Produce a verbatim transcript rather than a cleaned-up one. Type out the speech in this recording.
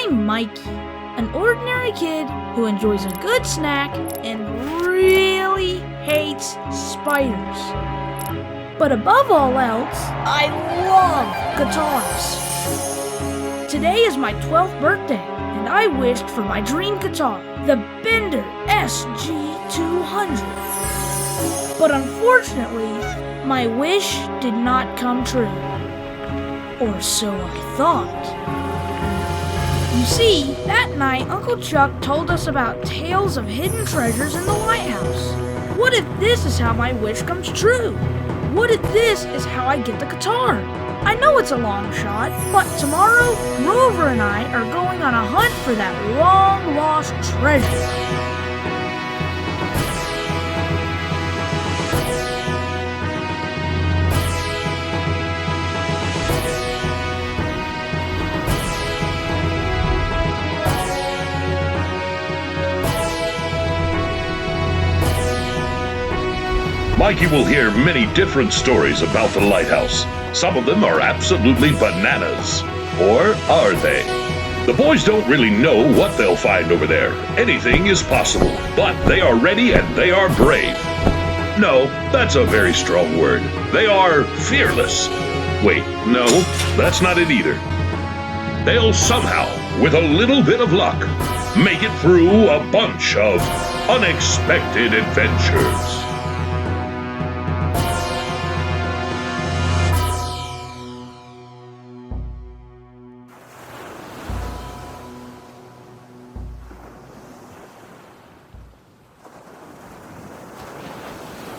I'm Mikey, an ordinary kid who enjoys a good snack and really hates spiders. But above all else, I love guitars. Today is my twelfth birthday, and I wished for my dream guitar, the Bender S G two hundred. But unfortunately, my wish did not come true. Or so I thought. You see, that night Uncle Chuck told us about tales of hidden treasures in the lighthouse. What if this is how my wish comes true? What if this is how I get the guitar? I know it's a long shot, but tomorrow, Rover and I are going on a hunt for that long-lost treasure. Mikey will hear many different stories about the lighthouse. Some of them are absolutely bananas. Or are they? The boys don't really know what they'll find over there. Anything is possible, but they are ready and they are brave. No, that's a very strong word. They are fearless. Wait, no, that's not it either. They'll somehow, with a little bit of luck, make it through a bunch of unexpected adventures.